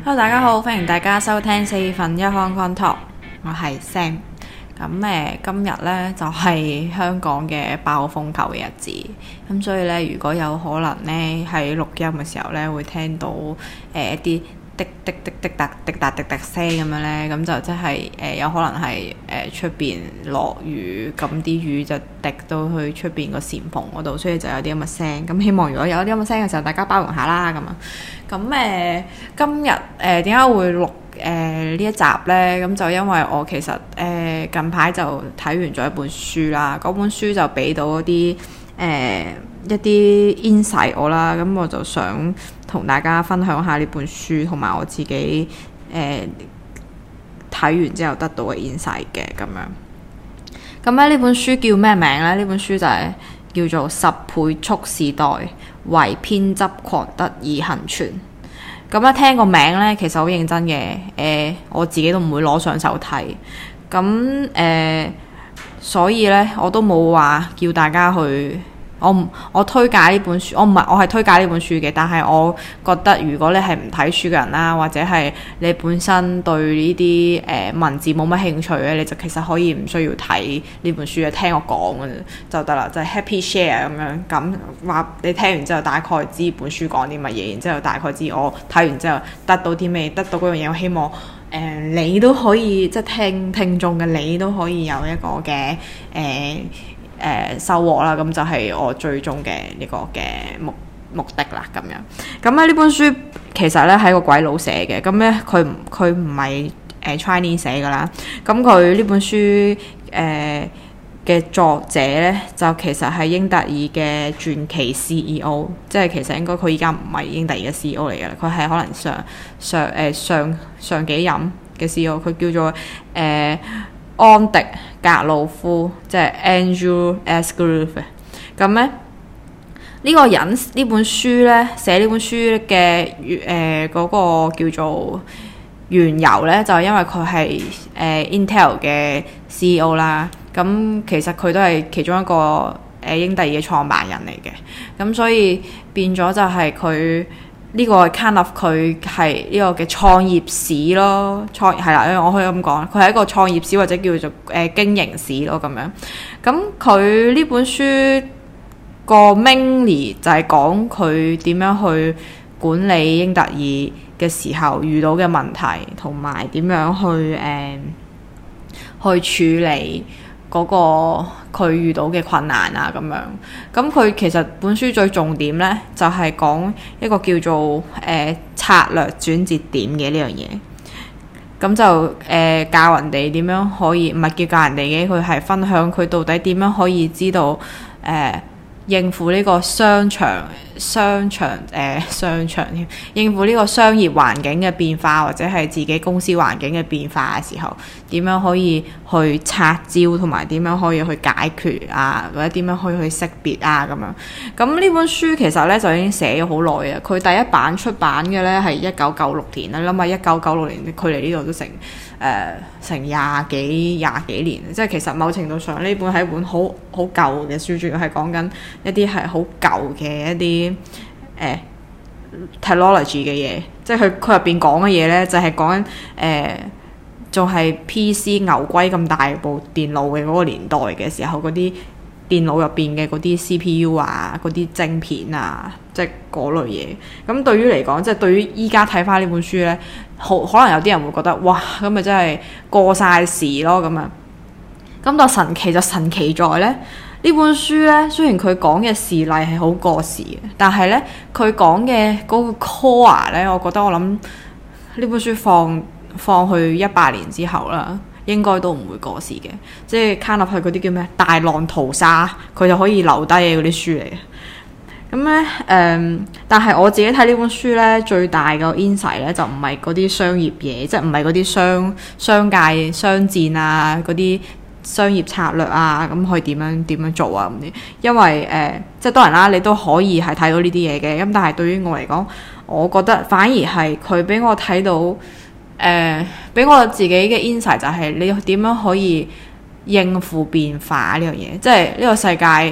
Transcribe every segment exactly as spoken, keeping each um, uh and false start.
Hello， 大家好，歡迎大家收聽四分一 Hong Kong Talk，我係 Sam。咁誒，今日咧就係、是、香港嘅爆風球嘅日子，咁所以咧，如果有可能咧喺錄音嘅時候咧，會聽到誒、呃、一啲滴滴滴滴答滴答滴答聲咁樣咧，咁就即係誒有可能係誒出邊落雨，咁啲雨就滴到去出邊個簷篷嗰度，所以就有啲咁嘅聲。咁希望如果有啲咁嘅聲嘅時候，大家包容下啦，咁啊。咁誒、呃，今日誒點解會錄誒呢、呃、一集呢？咁就因為我其實誒、呃、近排就睇完咗一本書啦，嗰本書就俾到一啲誒、呃、一啲 insight 我啦，咁我就想同大家分享下呢本書同埋我自己誒睇、呃、完之後得到嘅 insight 嘅咁樣。咁咧呢本書叫咩名呢？呢本書就係叫做《十倍速時代》。為偏執狂得以倖存。咁一聽個名咧，其實好認真嘅。誒、呃，我自己都唔會攞上手睇。咁誒、呃，所以咧，我都冇話叫大家去。我唔，我推介呢本書，我唔係，我係推介呢本書嘅。但係我覺得，如果你係唔睇書嘅人啦，或者係你本身對呢啲誒文字冇乜興趣咧，你就其實可以唔需要睇呢本書嘅，聽我講嘅就得啦，就係、是、happy share 咁樣。咁話你聽完之後，大概知本書講啲乜嘢，然之後大概知我睇完之後得到啲咩，得到嗰樣嘢。我希望誒、呃、你都可以，即係聽聽眾嘅你都可以有一個嘅誒。呃誒、呃、收穫啦，咁就係我最終嘅呢個嘅目目的啦，咁樣。咁咧呢本書其實咧係個鬼佬寫嘅，咁咧佢佢唔係誒 Chinese 寫噶啦。咁佢呢本書誒嘅、呃、作者咧就其實係英特爾嘅傳奇 C E O， 即係其實應該佢依家唔係英特爾嘅 C E O 嚟嘅啦，佢係可能上上誒、呃、上上幾任嘅 C E O， 佢叫做誒。呃安迪格魯夫，即係 Andrew Asgrove。咁咧呢個人呢本書咧寫呢本書嘅誒嗰個叫做緣由咧，就係、是、因為佢係誒 Intel 嘅 C E O 啦。咁其實佢都係其中一個誒、呃、英特爾嘅創辦人嚟嘅。咁所以變咗就係佢。呢個 kind of 佢係呢個嘅創業史咯，創係啦，我可以咁講，佢係一個創業史或者叫做誒、呃、經營史咯咁樣。咁佢呢本書個 mainly 就係講佢點樣去管理英特爾嘅時候遇到嘅問題，同埋點樣去誒、呃、去處理嗰個佢遇到嘅困難啊咁樣。咁佢其實本書最重點呢，就係、是、講一個叫做誒、呃、策略轉折點嘅呢樣嘢。咁就誒、呃、教人哋點樣可以，唔係叫教人哋嘅，佢係分享佢到底點樣可以知道誒、呃、應付呢個商場商場誒、呃、商場添，應付呢個商業環境嘅變化，或者係自己公司環境嘅變化嘅時候，點樣可以去拆招，同埋點樣可以去解決啊，或者點樣可以去識別啊咁樣。咁呢本書其實咧就已經寫咗好耐啊。佢第一版出版嘅咧係一九九六年啦，諗下一九九六年距離呢度都成誒、呃、成廿幾廿幾年，即係其實某程度上呢本係一本好好舊嘅書，主要係講緊一啲係好舊嘅一啲誒、呃、technology 嘅嘢，即係佢佢入邊講嘅嘢咧就係講緊誒仲係 P C 牛龜咁大部電腦嘅嗰個年代嘅時候，嗰啲電腦入邊嘅嗰啲 C P U 啊，嗰啲晶片啊，即係嗰類嘢。咁對於嚟講，即係對於依家睇翻呢本書咧，好可能有啲人會覺得哇，咁咪真係過晒時咯咁啊！咁但神奇就神奇在咧，呢本書咧雖然佢講嘅事例係好過時嘅，但係咧佢講嘅嗰個 core 咧，我覺得我諗呢本書放放去一百年之後啦，應該都唔會過時嘅。即係 kind of 係嗰啲叫咩大浪淘沙，佢就可以留低嘅嗰啲書嚟嘅。咁咧誒，但係我自己睇呢本書咧，最大嘅 insight 咧就唔係嗰啲商業嘢，即係唔係嗰啲商商界商戰啊，嗰啲商業策略啊，咁可以點樣點樣做啊咁啲。因為誒、呃，即係當然啦，你都可以係睇到呢啲嘢嘅。咁但係對於我嚟講，我覺得反而係佢俾我睇到誒，俾、呃、我自己嘅 insight 就係你點樣可以應付變化呢樣嘢。即係呢個世界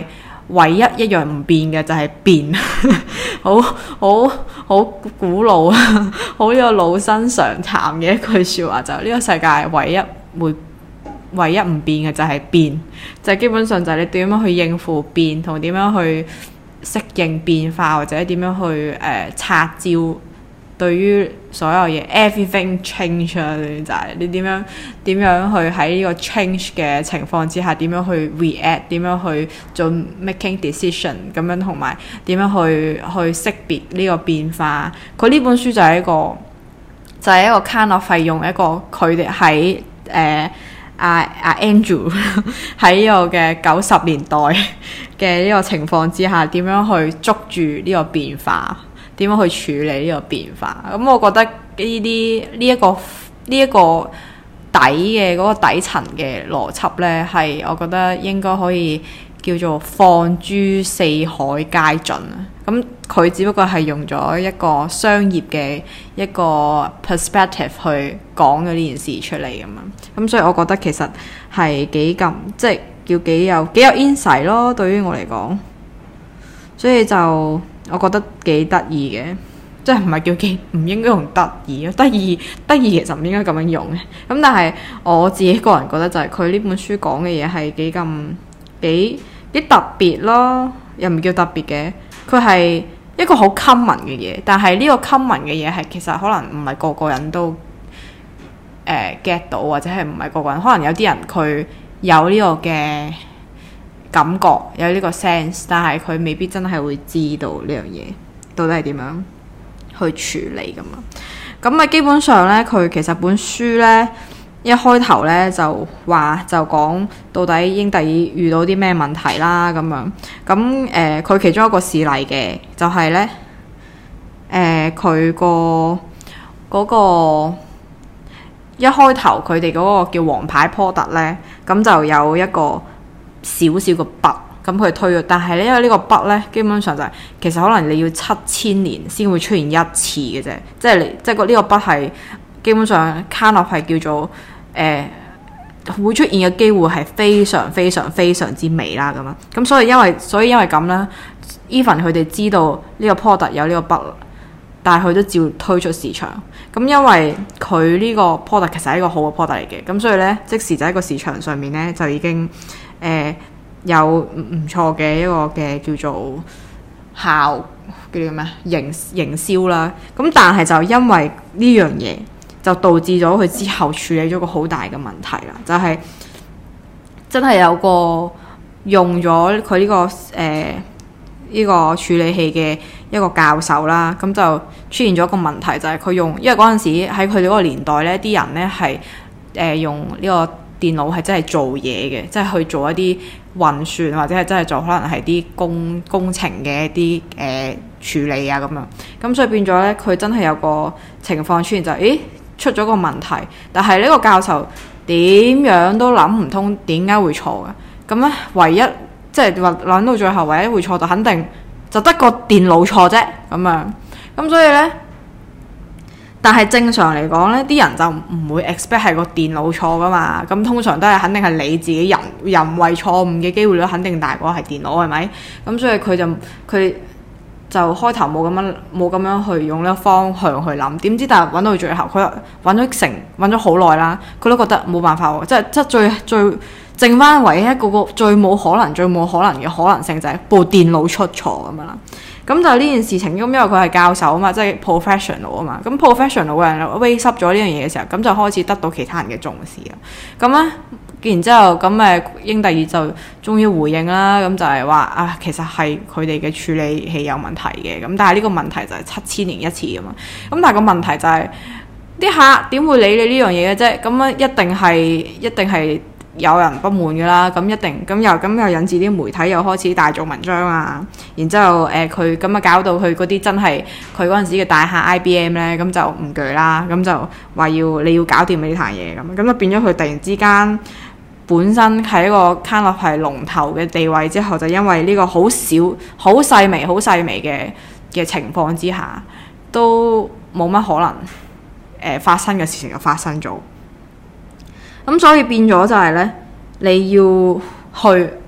唯一一樣唔變嘅就係變，好好好古老啊，好呢個老生常談嘅一句説話，就係呢個世界唯一會唯一唔變嘅就係變，就係基本上就係你點樣去應付變，同點樣去適應變化，或者點樣去誒、呃、拆招。對於所有嘢 everything change 啊，就係你點樣點樣去喺呢個 change 嘅情況之下，點樣去 react， 點樣去做 making decision 咁樣，同埋點樣去去識別呢個變化。佢呢本書就係一個就係、是、一個 kind of 係用一個佢哋喺誒阿阿 Andrew 喺呢個嘅九十年代嘅呢個情況之下，點樣去捉住呢個變化。點樣去處理呢個變化？咁、嗯、我覺得呢啲呢一個呢一、這個底嘅嗰、那個底層嘅邏輯呢，係我覺得應該可以叫做放諸四海皆準啊！咁、嗯、佢只不過係用咗一個商業嘅一個 perspective 去講咗呢件事出嚟咁樣。咁、嗯、所以我覺得其實係幾咁即係叫幾有幾有 insight 咯，對於我嚟講。所以就我覺得幾得意嘅，即係唔係叫幾唔應該用得意咯？得意得意其實唔應該咁樣用嘅。咁但係我自己個人覺得就係佢呢本書講嘅嘢係幾咁幾幾特別咯，又唔叫特別嘅。佢係一個好 common 嘅嘢，但係呢個 common 嘅嘢係其實可能唔係個個人都誒、呃、get 到，或者係唔係個個人，可能有啲人佢有呢個嘅感覺，有呢個 sense， 但係佢未必真係會知道呢樣嘢到底係點樣去處理㗎嘛。咁啊，基本上呢，佢其實本書呢一開頭呢就話就講到底英特爾遇到啲咩問題啦咁樣。咁誒，佢、呃、其中一個事例嘅就係、是、呢，誒佢個嗰個一開頭佢哋嗰個叫王牌 product 呢，咁就有一個少少個 bug， 咁佢推咗，但係咧因為呢個 bug 咧，基本上就係、是、其實可能你要七千年先會出現一次嘅啫，即係你即係個呢個 bug 係基本上 kind of 係叫做誒、呃、會出現嘅機會係非常非常非常之微啦咁樣，咁所以因為所以因為咁咧 even 佢哋知道呢個 product 有呢個 bug， 但係佢都照推出市場。咁因為佢呢個 product 其實係一個好嘅 product 嚟嘅，咁所以咧即時就喺個市場上面咧就已經。誒、呃、有唔唔錯嘅一個嘅叫做效叫做咩營營銷啦，咁但係就因為呢樣嘢就導致咗佢之後處理咗個好大嘅問題啦，就係、是、真係有個用咗佢呢個誒呢、呃這個處理器嘅一個教授啦，咁就出現咗一個問題，就係、是、佢用因為嗰陣時喺佢哋嗰個年代咧，啲人咧係誒用呢、這個。電腦係真係做嘢嘅，即係去做一啲運算，或者係真係做可能係啲工工程嘅一啲誒、呃、處理啊咁樣。咁所以變咗咧，佢真係有個情況出現就係、是，咦出咗個問題，但係呢個教授點樣都諗唔通點解會錯嘅。咁咧唯一即係話諗到最後，唯一會錯就肯定就得個電腦錯啫咁樣。咁所以咧。但係正常嚟講呢啲人就唔會 expect 係個電腦錯噶嘛，咁通常都係肯定係你自己人人為錯誤嘅機會率肯定大過係電腦，係咪？咁所以佢就佢就開頭冇咁樣冇咁樣去用呢個方向去諗，點知但係揾到最後，佢揾咗成揾咗好耐啦，佢都覺得冇辦法喎，即係即係最最剩翻唯一一個個最冇可能最冇可能嘅可能性就係部電腦出錯咁樣啦。咁就呢件事情，咁因為佢係教授啊嘛，即係 professional 啊嘛，咁 professional 嘅人 raise up 咗呢樣嘢嘅時候，咁就開始得到其他人嘅重視啦。咁咧，然之後咁誒，英特爾就終於回應啦，咁就係話啊，其實係佢哋嘅處理器有問題嘅，咁但係呢個問題就係七千年一次㗎嘛。咁但係個問題就係啲客點會理你呢樣嘢嘅啫？咁啊，一定係一定係。有人不滿嘅啦，咁一定咁又咁又引致啲媒體又開始大做文章啊，然之後誒佢咁啊搞到佢嗰啲真係佢嗰陣時嘅大客 I B M 咧，咁就唔鋸啦，咁就話要你要搞掂呢壇嘢咁，咁就變咗佢突然之間本身係一個 kind of 係龍頭嘅地位，之後就因為呢個好少好細微好細微嘅嘅情況之下，都冇乜可能誒、呃、發生嘅事情就發生咗。咁所以變咗就係咧，你要去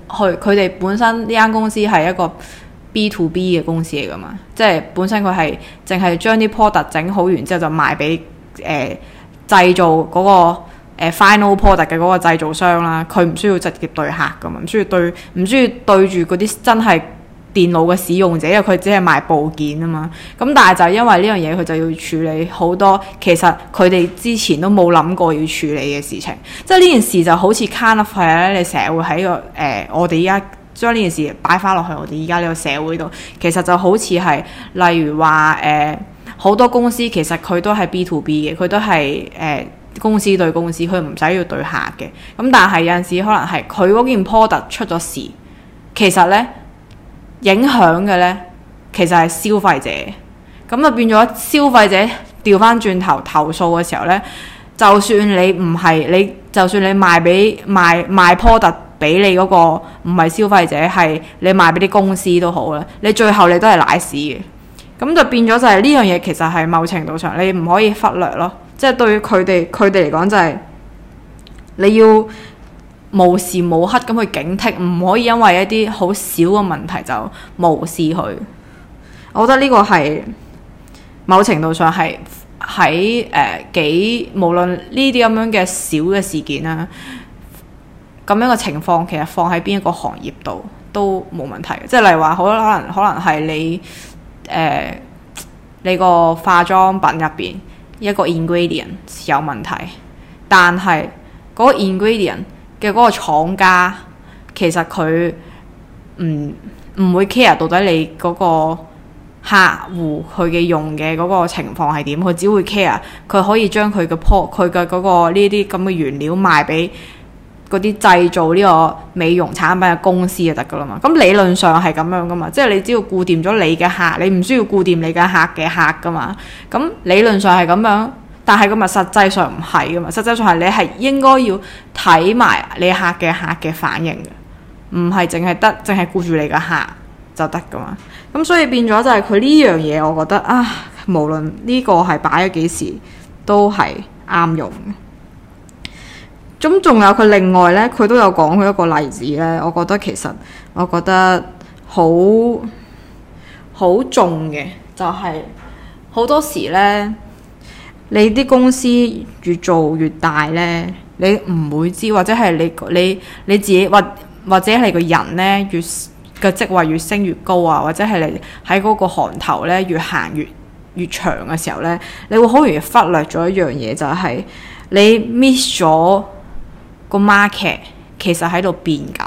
去佢哋本身呢間公司係一個 B to B 嘅公司嚟噶嘛，即係本身佢係淨係將啲 product 整好完之後就賣俾誒製造嗰、嗰個誒、呃、final product 嘅嗰個製造商啦。佢唔需要直接對客噶嘛，唔需要對唔需要對住嗰啲真係電腦嘅使用者，因為佢只係賣部件啊嘛。咁但係就因為呢樣嘢，佢就要處理好多其實佢哋之前都冇諗過要處理嘅事情。即係呢件事就好似 kind of 係咧，你成日會喺個誒、呃、我哋依家將呢件事擺翻落去我哋依家呢個社會度，其實就好似係例如話誒好多公司其實佢都係 B to B 嘅，佢都係誒、呃、公司對公司，佢唔使要對客嘅。咁但係有陣時可能係佢嗰件 product 出咗事，其實咧影響嘅咧其實係消費者，咁就變咗消費者調翻轉頭投訴嘅時候咧，就算你唔係你，就算你賣俾賣賣 product 俾你嗰個唔係消費者，係你賣俾啲公司都好啦，你最後你都係瀨屎嘅。咁就變咗就係呢樣嘢，其實係某程度上你唔可以忽略咯。即係對於佢哋佢哋嚟講就係你要無時無刻咁去警惕，唔可以因為一啲好小嘅問題就無視佢。我覺得呢個係某程度上係喺誒幾無論呢啲咁樣嘅小嘅事件啦，咁樣嘅情況其實放喺邊一個行業度都冇問題嘅。即係例如話，好可能可能係你誒、呃、你個化妝品入邊一個 ingredient 有問題，但係嗰個 ingredient 嘅嗰個廠家其實佢唔唔會 care 到底你嗰個客戶佢嘅用嘅嗰個情況係點，佢只會 care 佢可以將佢嘅 po 佢嘅嗰個呢啲咁嘅原料賣俾嗰啲製造呢個美容產品嘅公司就得噶啦嘛。咁理論上係咁樣噶嘛，即係你只要顧掂咗你嘅客，你唔需要顧掂你嘅客嘅客噶嘛。咁理論上係咁樣，但係咁啊實際上唔係噶嘛。實際上係你係應該要睇埋你客嘅客嘅反應嘅，唔係淨係得淨係顧住你嘅客就得噶嘛。咁所以變咗就係佢呢樣嘢，我覺得啊，無論呢個係擺咗幾時都係啱用嘅。咁仲有佢另外呢，佢都有講佢一個例子呢，我覺得其實我覺得好好重嘅，就係、是、好多時呢，你啲公司越做越大呢，你唔會知，或者係你你你自己或或者係個人呢，越嘅職位越升越高啊，或者係你喺嗰個行頭呢，越行越越長嘅時候呢，你會好容易忽略咗一樣嘢，就係、是、你 miss 咗個 market 其實喺度變緊。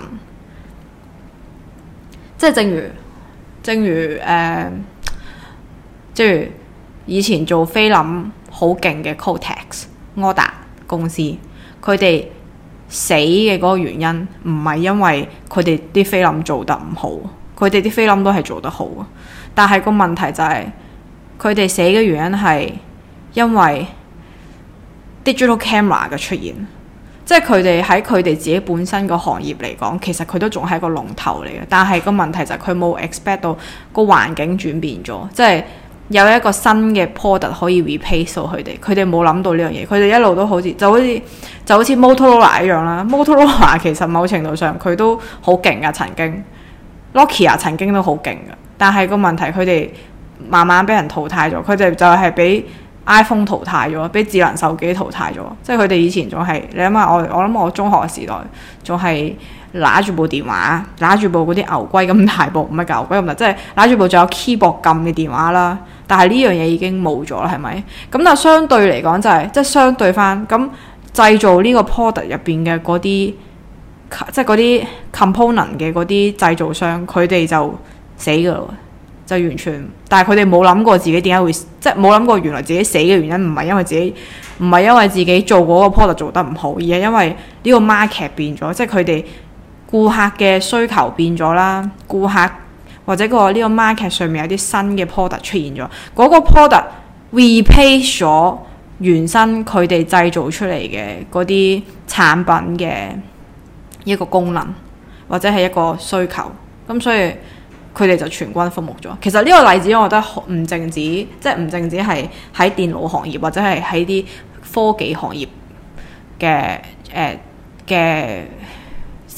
即係正如正如誒、呃，正如以前做菲林好勁嘅 Kotex 柯達公司，佢哋死嘅嗰個原因唔係因為佢哋啲菲林做得唔好，佢哋啲菲林都係做得好，但係個問題就係佢哋死嘅原因係因為 digital camera 嘅出現。即係佢哋喺佢哋自己本身個行業嚟講，其實佢都仲係一個龍頭嚟嘅，但係個問題就係佢冇 expect 到個環境轉變咗，即係有一個新嘅 product 可以 replace 到佢哋，佢哋冇諗到呢樣嘢，佢哋一路都好似就好似就好似 Motorola 一樣啦。Motorola 其實某程度上佢都好勁噶，曾經 Nokia 曾經都好勁噶，但係個問題佢哋慢慢俾人淘汰咗，佢哋就係俾 iPhone 淘汰咗，俾智能手機淘汰咗。即係佢哋以前仲係，你諗下我我諗我中學嘅時代仲係拿住部電話，拿住部嗰啲牛龜咁大部，唔係牛龜咁大，即係拿住部仲有 keyboard 撳嘅電話啦。但係呢樣嘢已經冇咗啦，係咪？咁但係相對嚟講就係、是，即係相對翻咁製造呢個 product 入邊嘅嗰啲，即係嗰啲 component 嘅嗰啲製造商，佢哋就死㗎咯。就完全，但係佢哋冇諗過自己點解會，即係冇諗過原來自己死嘅原因唔係因為自己，唔係因為自己做嗰個 product 做得唔好，而係因為呢個 market 變咗，即係佢哋顧客嘅需求變咗啦，顧客或者個呢個 market 上面有啲新嘅 product 出現咗，嗰個 product replace 咗原生佢哋製造出嚟嘅嗰啲產品嘅一個功能或者係一個需求，咁所以佢哋就全軍覆沒咗。其實呢個例子我覺得唔淨止，即係唔淨止係喺電腦行業或者係喺啲科技行業嘅誒嘅消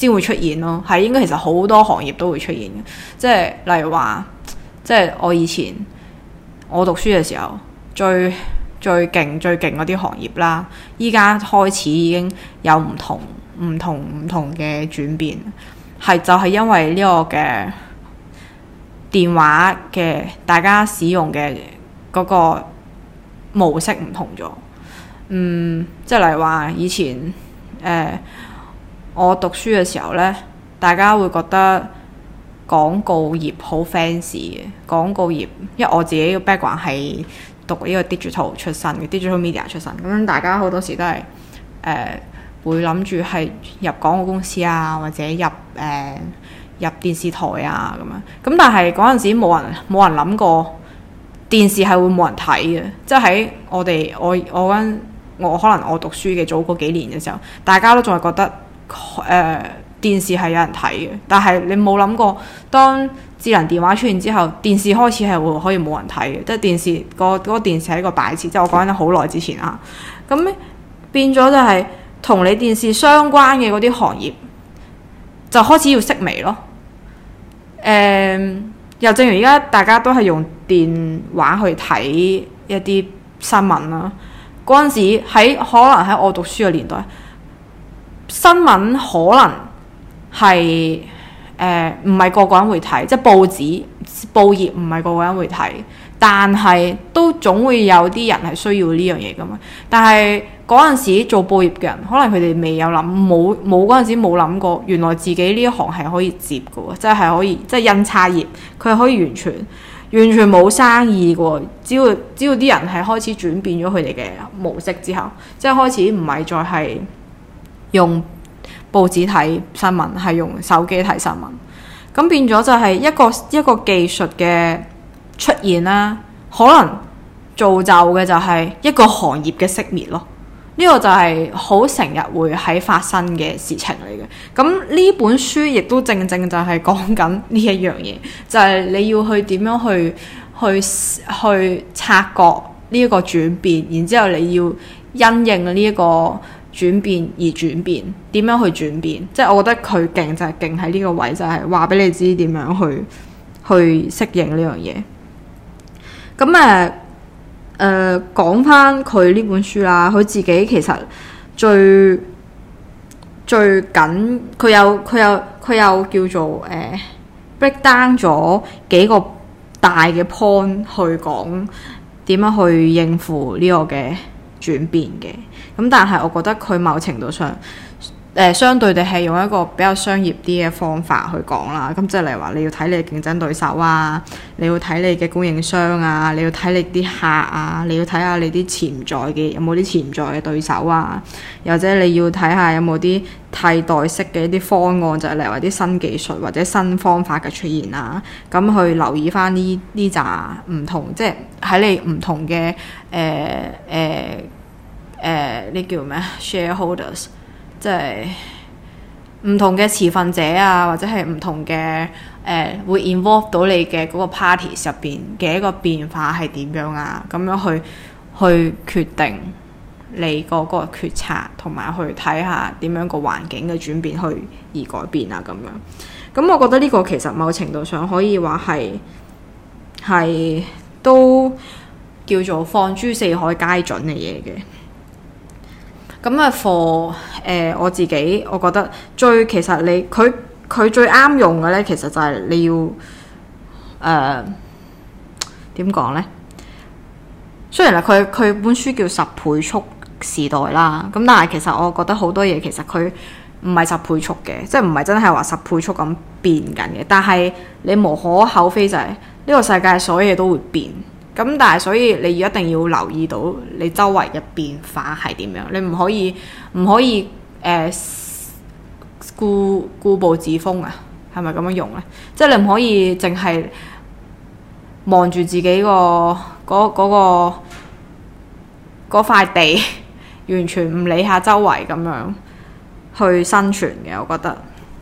先會出現咯。係應該其實好多行業都會出現嘅，即係例如話，即係我以前我讀書嘅時候最最勁最勁嗰啲行業啦，依家開始已經有唔同唔同唔同嘅轉變，係就係因為呢個嘅電話嘅大家使用嘅嗰個模式唔同咗。嗯，即係例如話以前誒、呃、我讀書嘅時候呢，大家會覺得廣告業好 fancy 嘅廣告業，因為我自己嘅 background 係讀呢個 digital 出身嘅 digital media 出身，咁大家好多時都係誒、呃、會諗住係入廣告公司啊，或者入誒、呃、入電視台啊咁樣。咁但係嗰陣時冇人冇人諗過電視係會冇人睇嘅，即係喺我哋我我嗰我可能我讀書嘅早嗰幾年嘅時候，大家都仲係覺得誒、呃、電視係有人睇嘅，但係你冇諗過當智能電話出現之後，電視開始係會可以冇人睇嘅，即係電視個嗰個電視係一個擺設，即係我講緊好耐之前啊。咁變咗就係同你電視相關嘅嗰啲行業就開始要式微咯。誒、呃，又正如而家大家都係用電話去睇一啲新聞啦。嗰陣時喺可能喺我讀書嘅年代，新聞可能係誒唔係個個人會睇，即係報紙報業唔係個個人會睇，但係都總會有啲人係需要呢樣嘢㗎嘛。但係嗰陣時做報業嘅人，可能佢哋未有諗，冇冇嗰陣時冇諗過，原來自己呢一行係可以接嘅喎，即係可以即係印刷業，佢係可以完全。完全冇生意嘅，只要只要啲人係開始轉變咗佢哋嘅模式之後，即係開始唔係再係用報紙睇新聞，係用手機睇新聞。咁變咗就係一個一個技術嘅出現啦，可能造就嘅就係一個行業嘅熄滅咯。呢個就係好成日會喺發生嘅事情嚟嘅。咁呢本書亦都正正就係講緊呢一樣嘢，就係你要去點樣去去去察覺呢一個轉變，然之後你要因應呢一個轉變而轉變，點樣去轉變？即係我覺得佢勁就係勁喺呢個位，就係話俾你知點樣去去適應呢樣嘢。咁誒。誒、呃、講翻佢呢本書啦，佢自己其實最最緊，佢有佢有佢有叫做誒、呃、break down 咗幾個大嘅 point 去講點樣去應付呢個嘅轉變嘅。咁但係我覺得佢某程度上誒、呃、相對地係用一個比較商業啲嘅方法去講啦。咁即係例如話你要睇你嘅競爭對手啊，你要睇你嘅供應商啊，你要睇你啲客啊，你要睇下你啲潛在嘅有冇啲潛在嘅對手啊，又或者你要睇下有冇啲替代式嘅一啲方案，就係例如話啲新技術或者新方法嘅出現啊。咁去留意翻呢呢扎唔同，即係喺你唔同嘅誒誒誒呢叫咩 shareholders。即係唔同嘅持份者啊，或者係唔同嘅誒、呃、會 involve 到你嘅嗰個 party 入邊嘅一個變化係點樣啊？咁樣去去決定你嗰個決策，同埋去睇下點樣個環境嘅轉變去而改變啊咁樣。咁我覺得呢個其實某程度上可以話係係都叫做放諸四海皆準嘅嘢嘅。咁啊 for 誒我自己，我覺得最其實你佢佢最啱用嘅咧，其實就係你要誒點講咧？雖然啊，佢佢本書叫十倍速時代啦，咁但係其實我覺得好多嘢其實佢唔係十倍速嘅，即係唔係真係話十倍速咁變緊嘅。但係你無可厚非就係呢個世界所有嘢都會變。咁但係所以你一定要留意到你周圍嘅變化係點樣，你唔可以唔可以誒、呃、固固步自封啊？係咪咁樣用咧？即係你唔可以淨係望住自己個嗰嗰個嗰塊地，完全唔理下周圍咁樣去生存嘅，我覺得。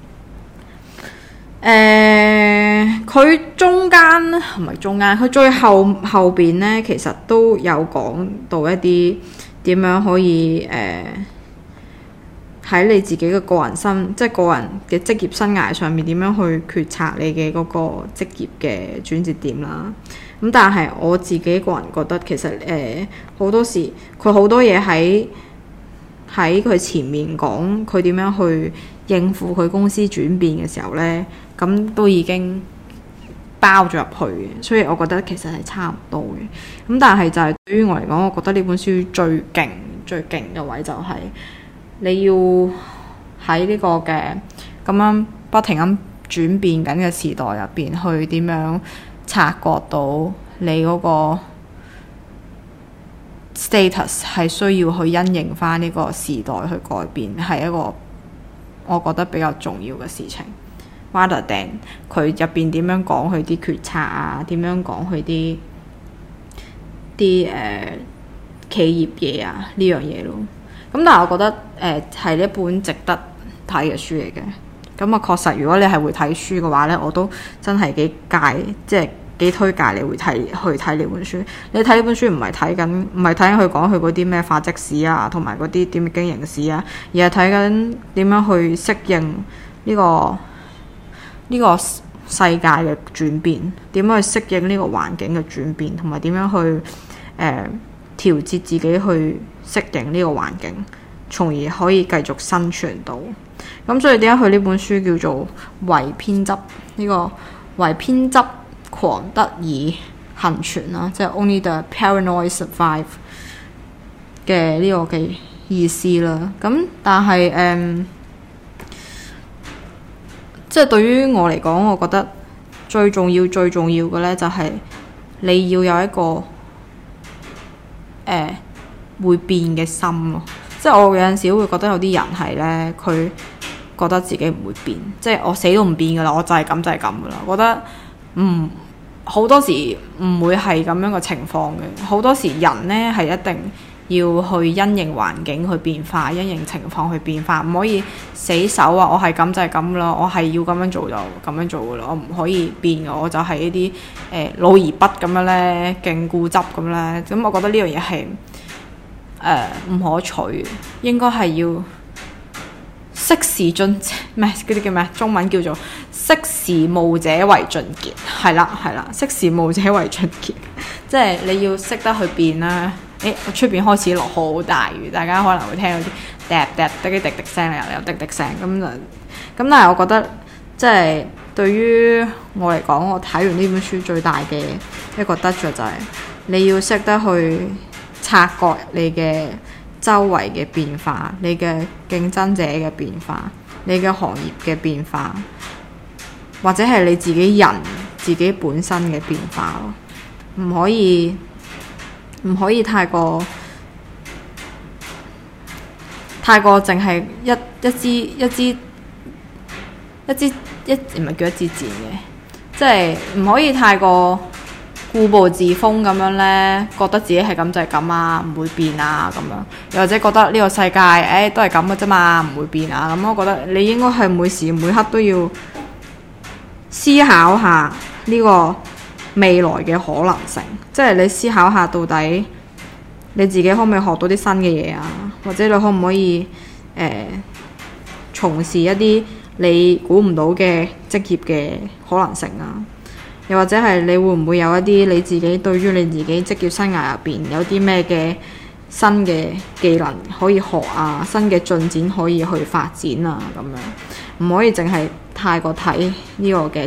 誒、呃，佢中間唔係中間，佢最後後邊咧，其實都有講到一啲點樣可以誒喺你自己嘅個人生，即係個人嘅職業生涯上面點樣去決策你嘅嗰個職業嘅轉折點啦。咁但係我自己個人覺得其實誒好、呃、多時佢好多嘢喺喺佢前面講佢點樣去應付佢公司轉變嘅時候呢，咁都已經包咗入去嘅，所以我覺得其實係差唔多嘅。咁但係就係對於我嚟講，我覺得呢本書最勁最勁嘅位就係你要喺呢個嘅咁樣不停咁轉變緊嘅時代入邊，去點樣察覺到你嗰個 status 係需要去因應翻呢個時代去改變，係一個我覺得比較重要嘅事情。rather than 佢入邊點樣講佢啲決策啊，點樣講佢啲啲誒企業嘢啊呢樣嘢咯。咁但係我覺得誒係、呃、一本值得睇嘅書嚟嘅。咁啊確實，如果你係會睇書嘅話咧，我都真係幾介即係幾推介你會睇去睇呢本書。你睇呢本書唔係睇緊唔係睇緊佢講佢嗰啲咩發跡史啊，同埋嗰啲點經營史啊，而係睇緊點樣去適應呢個呢個世界嘅轉變，點樣去適應呢個環境嘅轉變，同埋點樣去誒、呃、調節自己去適應呢個環境，從而可以繼續生存到。咁所以點解佢呢本書叫做為偏執呢、這個為偏執狂得以幸存啦，即係 Only the Paranoid Survive 嘅呢個嘅意思啦。咁但係誒。嗯即係對於我嚟講，我覺得最重要、最重要嘅呢，就係你要有一個誒、呃、會變嘅心咯。即係我有陣時會覺得有啲人係呢，佢覺得自己唔會變，即係我死都唔變噶啦，我就係咁就係咁噶啦。我覺得唔好多時唔會係咁樣嘅情況嘅。好多時人呢係一定要去因應環境去變化，因應情況去變化，唔可以死守啊！我係咁就係咁啦，我係要咁樣做就咁樣做噶啦，我唔可以變嘅，我就係呢啲誒老而不咁樣咧，勁固執咁咧。咁我覺得呢樣嘢係誒唔可取，應該係要識時進咩嗰啲叫咩？中文叫做識時務者為俊傑，係啦係啦，識時務者為俊傑，即係你要識得去變啦。誒，我出邊開始落好大雨，大家可能會聽到啲嗒嗒滴滴滴滴聲，又有滴滴聲咁就咁。但係我覺得即係對於我嚟講，我睇完呢本書最大嘅一個得着就係你要識得去察覺你嘅周圍嘅變化，你嘅競爭者嘅變化，你嘅行業嘅變化，或者係你自己人自己本身嘅變化咯，唔可以。唔可以太過太過淨係一一支一支一支一唔係叫一支箭嘅，即係唔可以太過固步自封咁樣呢，覺得自己係咁就係咁啊，唔會變啊咁樣，又或者覺得呢個世界誒、哎、都係咁嘅啫嘛，唔會變啊咁。我覺得你應該係每時每刻都要思考下呢個未來嘅可能性，即係你思考下到底你自己可唔可以學到啲新嘅嘢啊，或者你可唔可以誒、呃、從事一啲你估唔到嘅職業嘅可能性啊，又或者係你會唔會有一啲你自己對於你自己職業生涯入邊有啲咩嘅新嘅技能可以學啊，新嘅進展可以去發展啊咁樣，唔可以淨係太過睇呢個嘅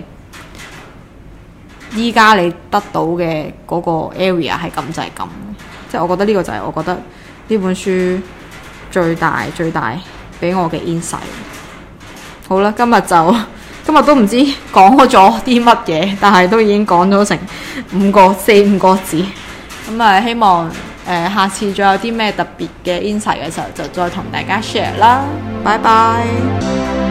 依家你得到嘅嗰個 area 係咁就係咁，即係我覺得呢個就係我覺得呢本書最大最大俾我嘅 insight。好啦，今日就今日都唔知講咗啲乜嘢，但係都已經講咗成五個四五個字。咁啊，希望誒、呃、下次再有啲咩特別嘅 insight 嘅時候，就再同大家 share 啦。拜拜。